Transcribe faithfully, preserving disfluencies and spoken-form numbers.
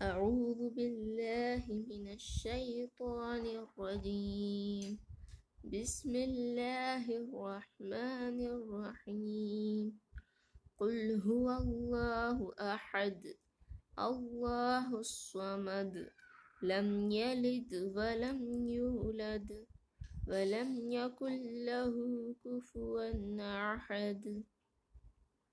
أعوذ بالله من الشيطان الرجيم. بسم الله الرحمن الرحيم. قل هو الله أحد الله الصمد لم يلد ولم يولد ولم يكن له كفوا أحد.